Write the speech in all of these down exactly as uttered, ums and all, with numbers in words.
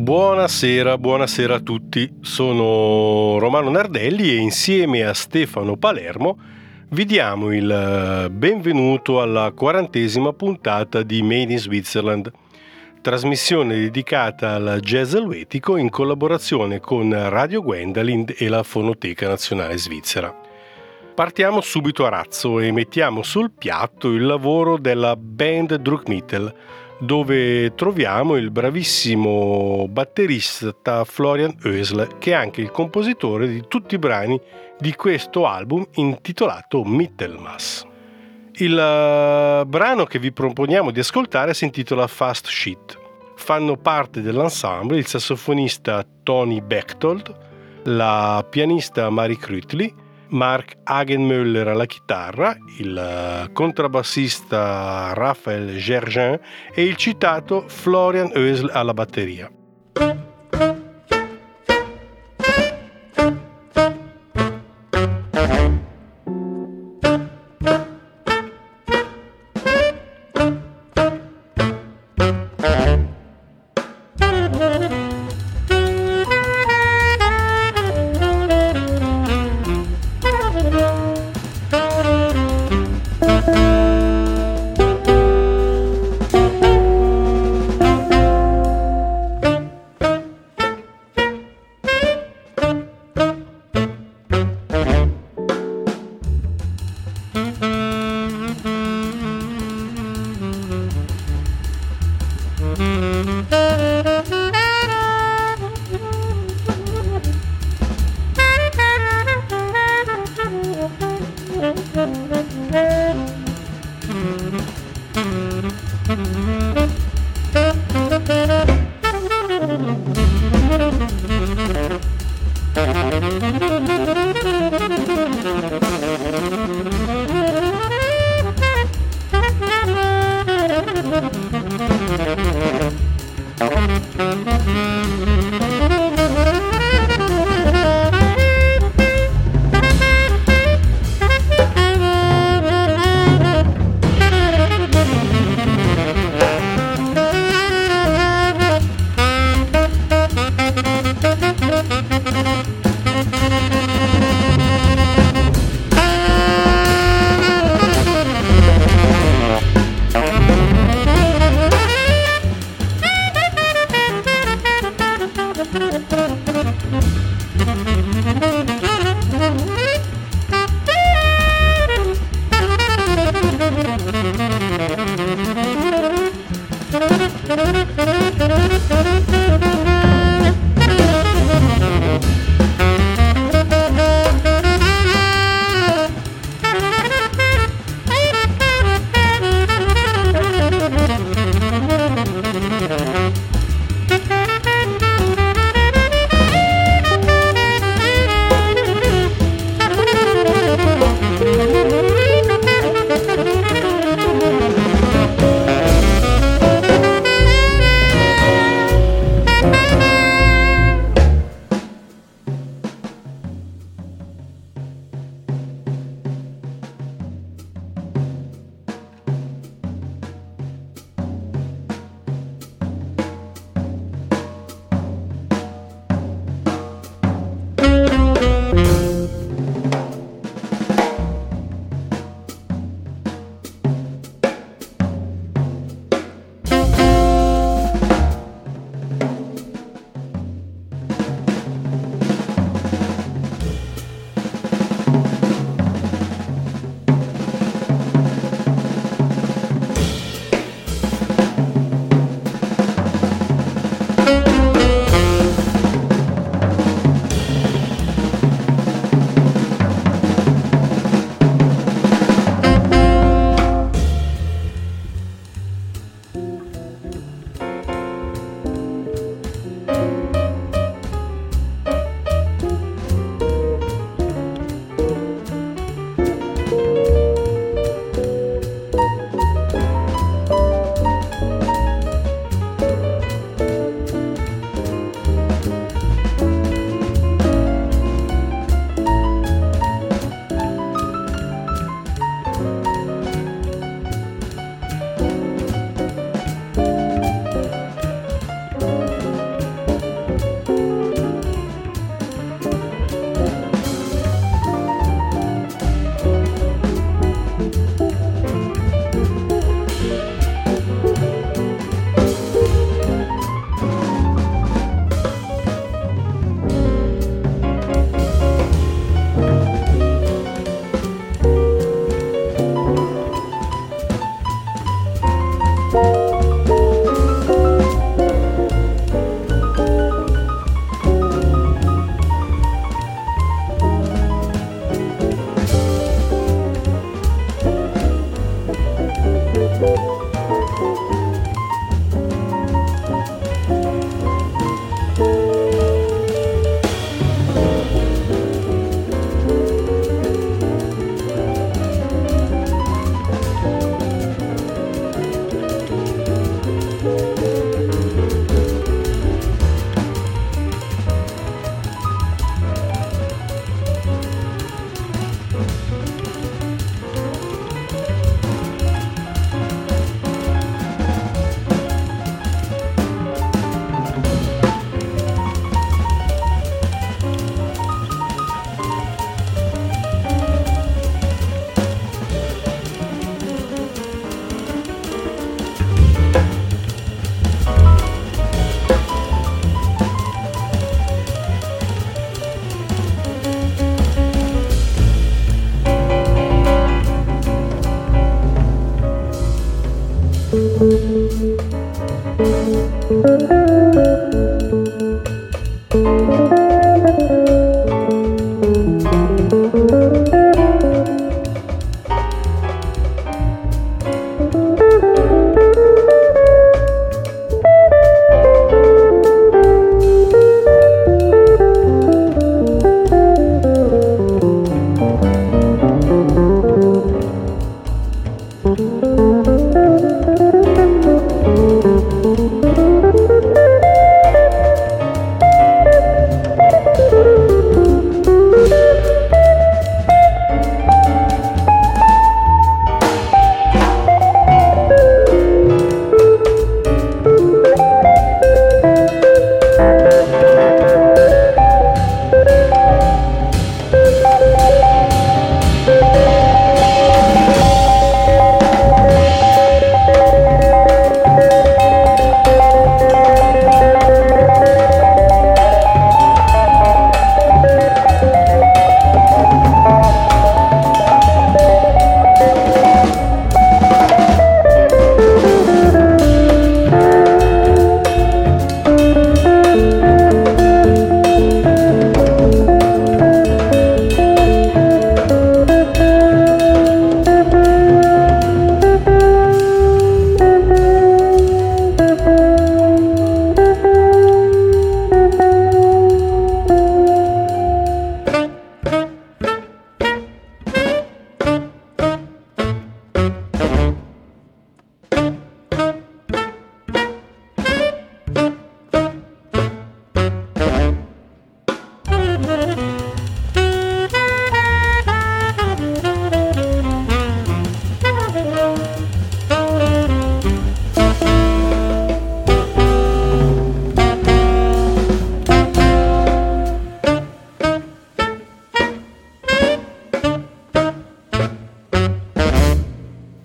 Buonasera, buonasera a tutti. Sono Romano Nardelli e insieme a Stefano Palermo vi diamo il benvenuto alla quarantesima puntata di Made in Switzerland, trasmissione dedicata al jazz elvetico in collaborazione con Radio Gwendalind e la Fonoteca Nazionale Svizzera. Partiamo subito a razzo e mettiamo sul piatto il lavoro della band Druckmittel, dove troviamo il bravissimo batterista Florian Oesle, che è anche il compositore di tutti i brani di questo album intitolato Mittelmass. Il uh, brano che vi proponiamo di ascoltare si intitola Fast Shit. Fanno parte dell'ensemble il sassofonista Tony Bechtold, la pianista Marie Krütli, Mark Hagenmöller alla chitarra, il contrabbassista Raphael Gergen e il citato Florian Oesle alla batteria.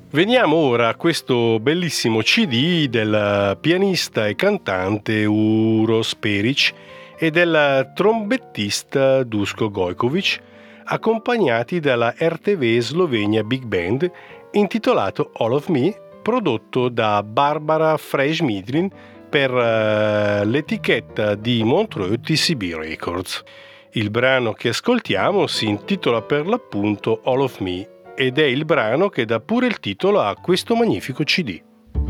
Veniamo ora a questo bellissimo C D del pianista e cantante Uroš Perić e del trombettista Duško Gojković, accompagnati dalla R T V Slovenia Big Band, intitolato All of Me, prodotto da Barbara Fresh-Midrin per uh, l'etichetta di Montreux T C B Records. Il brano che ascoltiamo si intitola per l'appunto All of Me ed è il brano che dà pure il titolo a questo magnifico C D.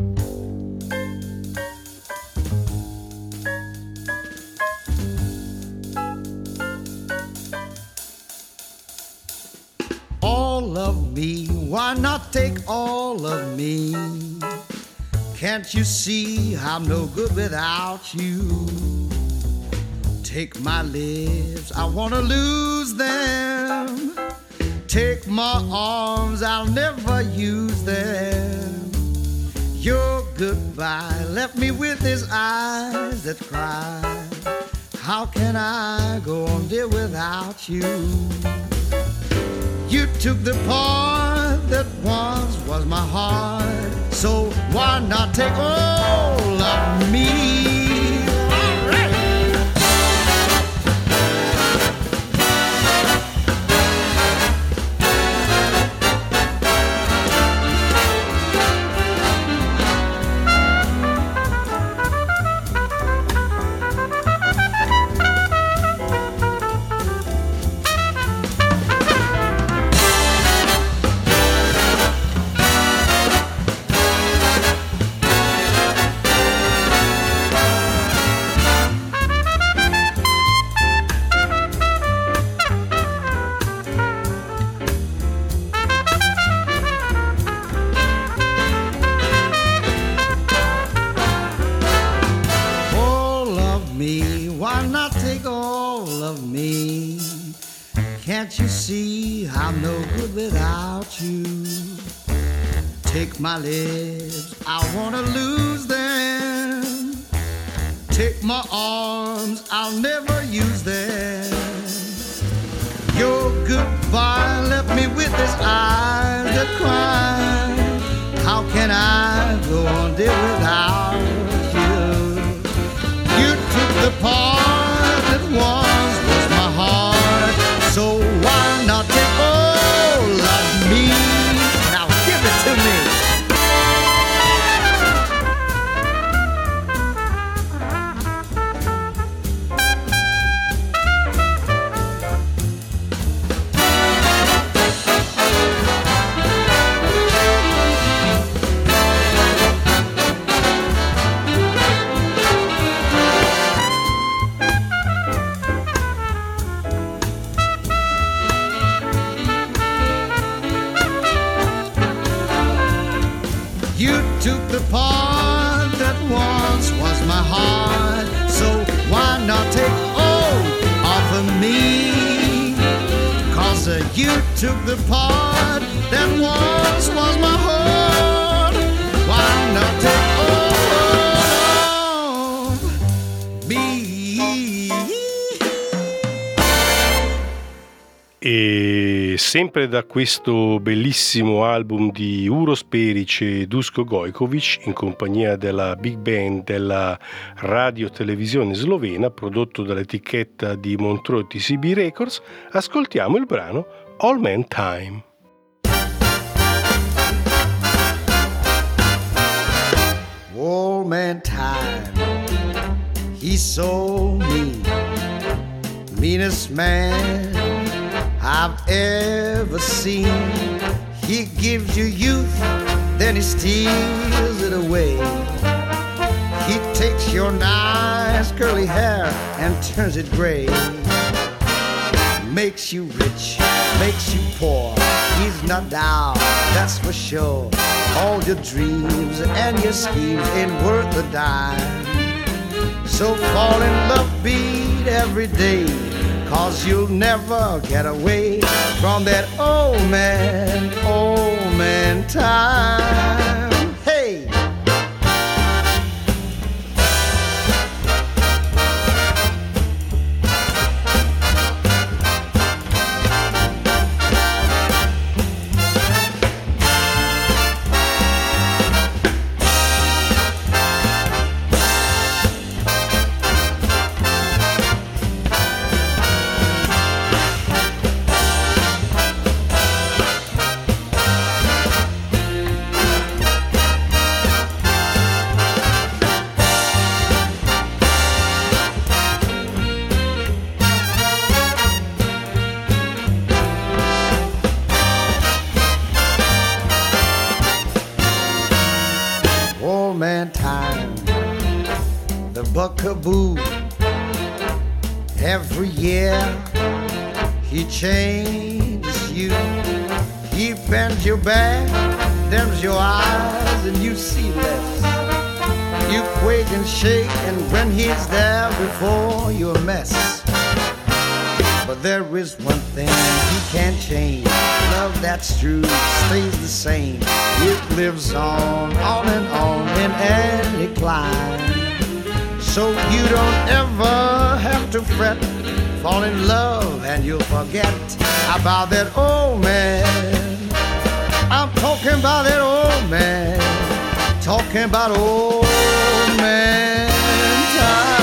All of me, why not take all of me? Can't you see I'm no good without you? Take my lips, I wanna lose them. Take my arms, I'll never use them. Your goodbye left me with his eyes that cry. How can I go on, dear, without you? You took the part that once was my heart, so why not take all of me? Can't you see I'm no good without you? Take my lips, I wanna lose them. Take my arms, I'll never use them. Your goodbye left me with this eyes that cry. How can I go on, dear, without you? You took the part that once was my heart, so why not take all of me? Now give it to me. Took the part that once was my heart, so why not take all off of me? Cause uh, you took the part that once was my heart. Why not take all of me? E sempre da questo bellissimo album di Uroš Perić e Duško Gojković, in compagnia della big band della radio televisione slovena, prodotto dall'etichetta di Montreux T C B Records, ascoltiamo il brano All Man Time. All man time, he's so mean, meanest man I've ever seen. He gives you youth, then he steals it away. He takes your nice curly hair and turns it gray. Makes you rich, makes you poor. He's not down, that's for sure. All your dreams and your schemes ain't worth a dime. So fall in love, beat every day, cause you'll never get away from that old man, old man time. Hey! buckaboo. Every year he changes you. He bends your back, dims your eyes, and you see less. You quake and shake, and when he's there before you're a mess. But there is one thing he can't change. Love that's true stays the same. It lives on, on and on in any climb. So you don't ever have to fret. Fall in love and you'll forget about that old man. I'm talking about that old man. Talking about old man time.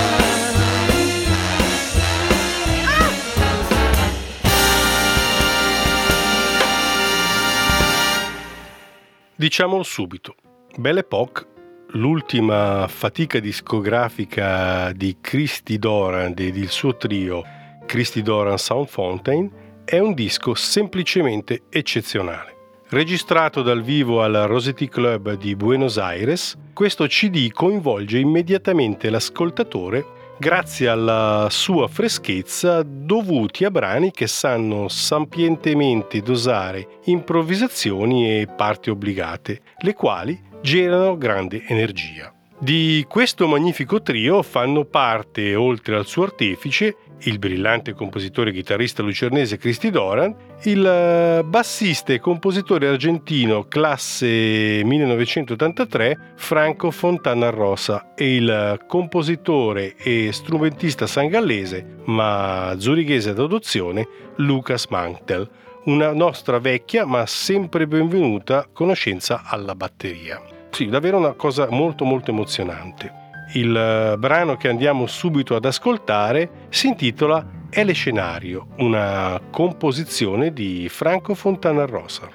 Diciamolo subito, Belle Époque, l'ultima fatica discografica di Christy Doran ed il suo trio Christy Doran Sound Fountain, è un disco semplicemente eccezionale. Registrato dal vivo al Rossetti Club di Buenos Aires, questo C D coinvolge immediatamente l'ascoltatore grazie alla sua freschezza dovuti a brani che sanno sapientemente dosare improvvisazioni e parti obbligate, le quali generano grande energia. Di questo magnifico trio fanno parte, oltre al suo artefice, il brillante compositore e chitarrista lucernese Christy Doran, il bassista e compositore argentino classe millenovecentottantatré Franco Fontana Rosa e il compositore e strumentista sangallese, ma zurighese d'adozione, Lucas Mantel, una nostra vecchia ma sempre benvenuta conoscenza alla batteria. Sì, davvero una cosa molto molto emozionante. Il brano che andiamo subito ad ascoltare si intitola El Scenario, una composizione di Franco Fontana Rosa.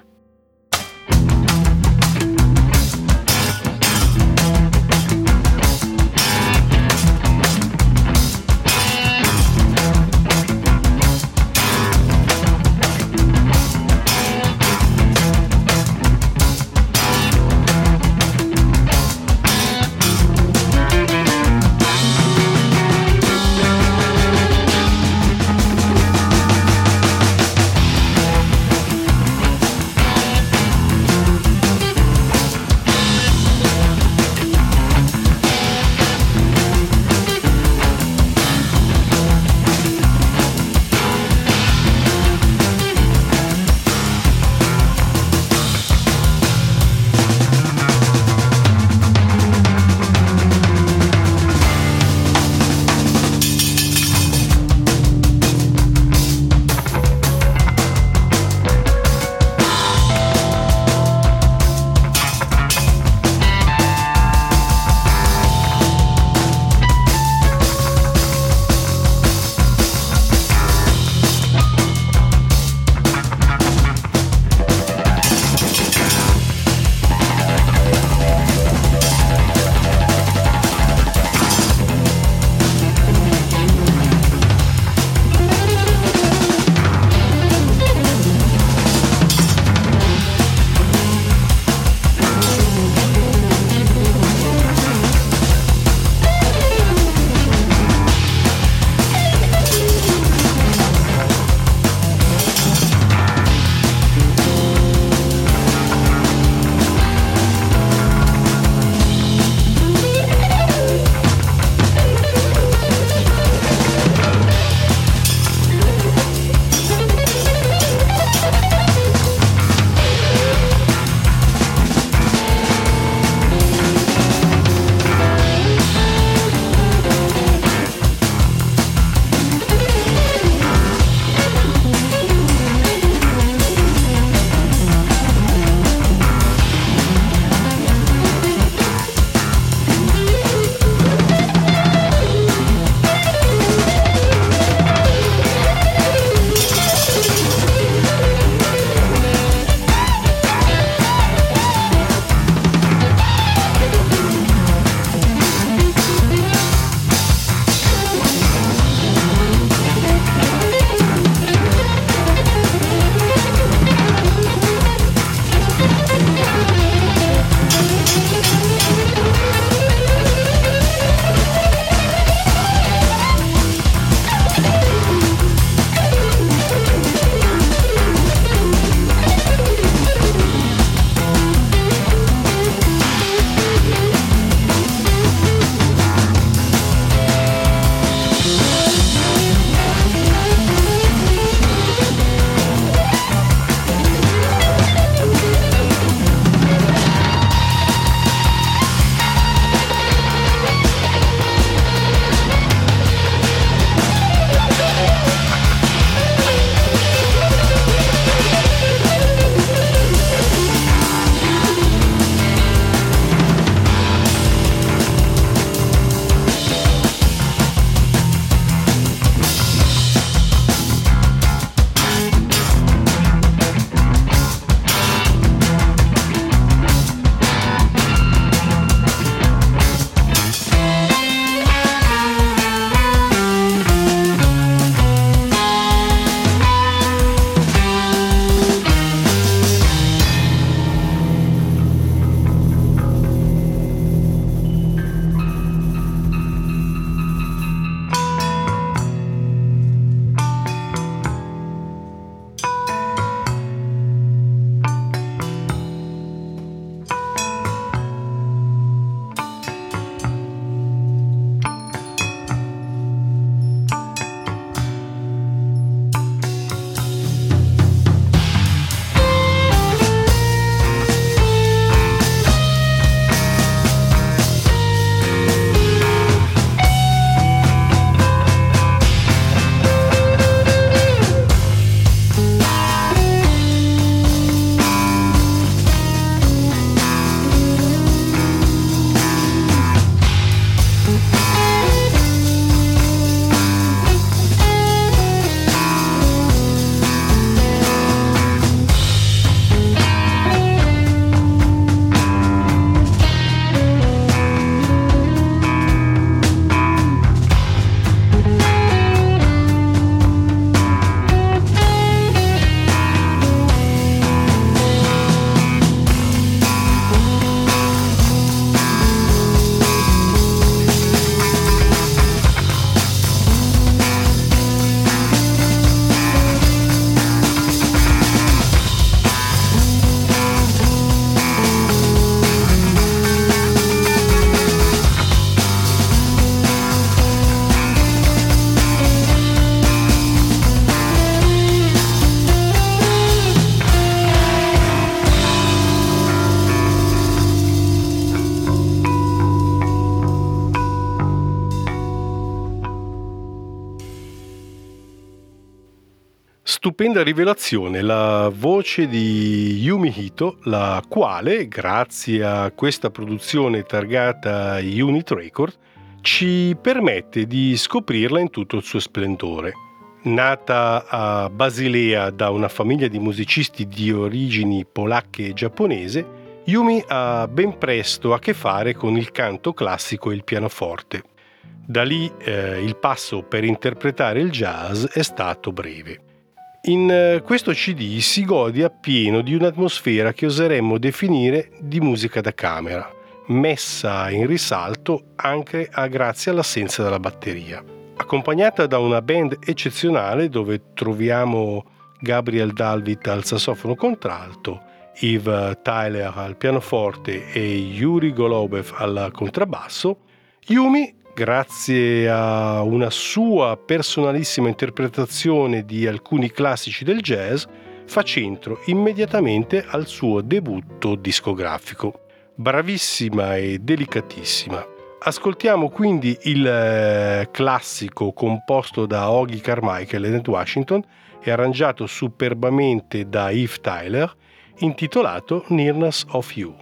stupenda rivelazione, la voce di Yumi Hito, la quale, grazie a questa produzione targata Unit Record, ci permette di scoprirla in tutto il suo splendore. Nata a Basilea da una famiglia di musicisti di origini polacche e giapponese, Yumi ha ben presto a che fare con il canto classico e il pianoforte. Da lì eh, il passo per interpretare il jazz è stato breve. In eh, questo C D si gode appieno di un'atmosfera che oseremmo definire di musica da camera, messa in risalto anche a grazie all'assenza della batteria. Accompagnata da una band eccezionale dove troviamo Gabriel Dalvit al sassofono contralto, Yves Tyler al pianoforte e Yuri Golubev al contrabbasso, Yumi, grazie a una sua personalissima interpretazione di alcuni classici del jazz, fa centro immediatamente al suo debutto discografico. Bravissima e delicatissima. Ascoltiamo quindi il eh, classico composto da Ogie Carmichael e Ned Washington e arrangiato superbamente da Yves Tyler, intitolato Nearness of You.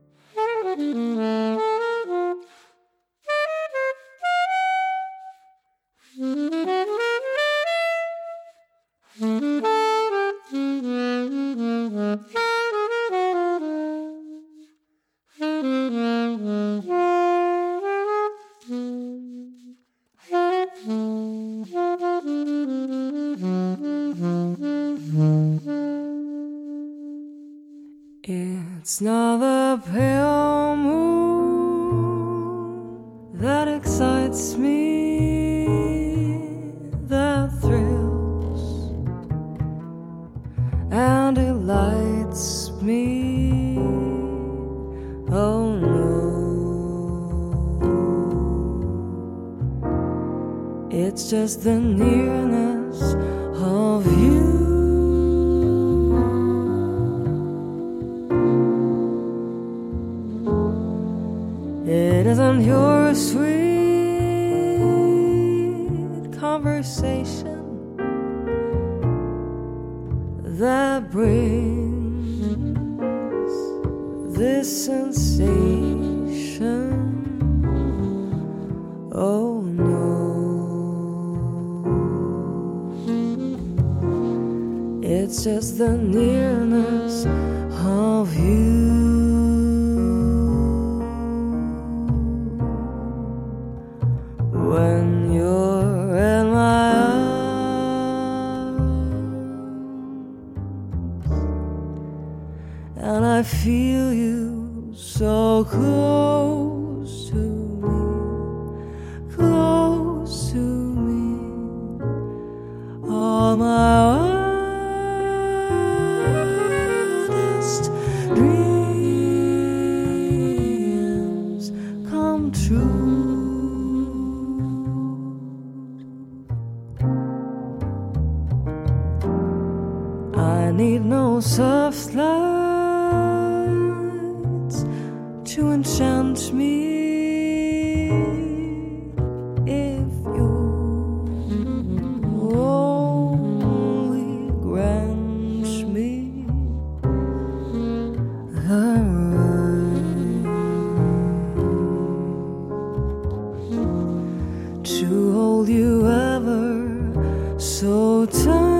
It's not the pale moon that excites me, that thrills and delights me. Oh no, it's just the nearness of you. It isn't your sweet conversation that brings this sensation. Oh no, it's just the nearness of you. When you're in my arms and I feel you so close to me, close to me, all my wildest dreams come true. I need no soft lights to enchant me if you only grant me the right to hold you ever so tight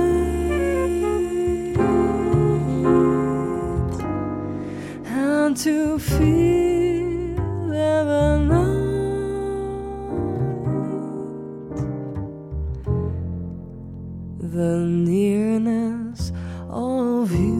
and to feel every night the nearness of you.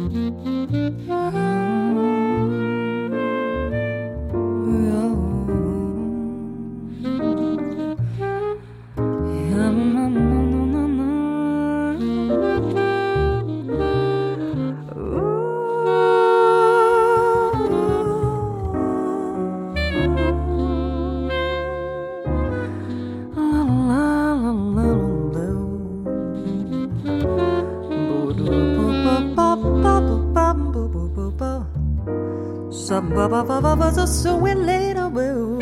So we later will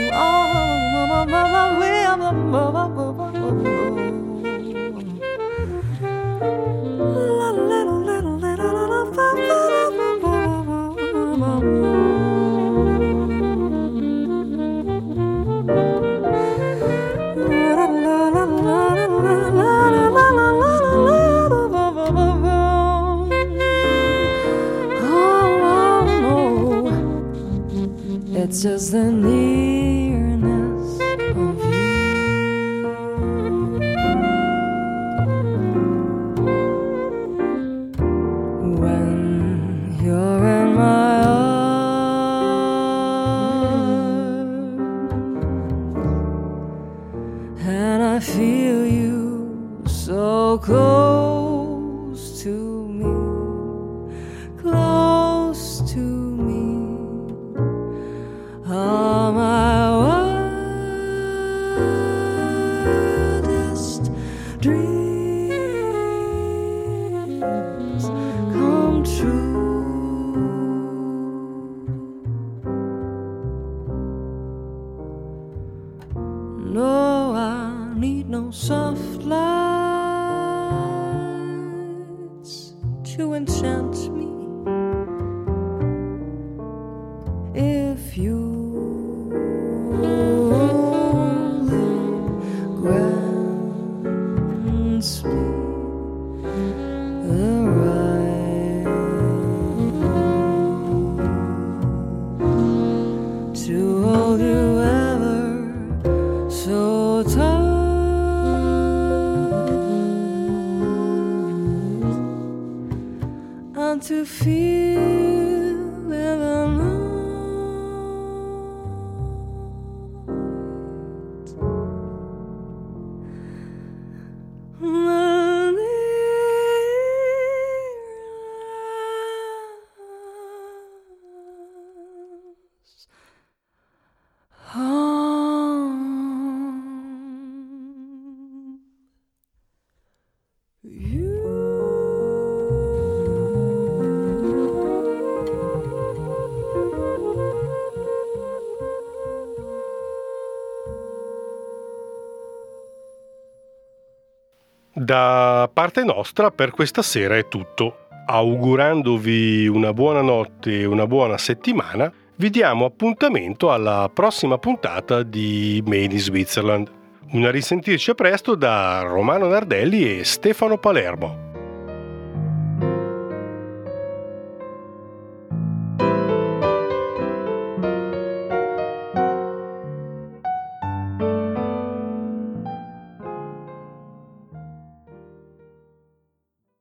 it's just the nearness of you. When you're in my arms and I feel you so close to me, close to me. All my wildest dreams come true. No, I need no soft lights to enchant me. If you grants me the right to hold you ever so tight and to feel even more. Da parte nostra per questa sera è tutto. Augurandovi una buona notte e una buona settimana, vi diamo appuntamento alla prossima puntata di Made in Switzerland. Una risentirci a presto da Romano Nardelli e Stefano Palermo.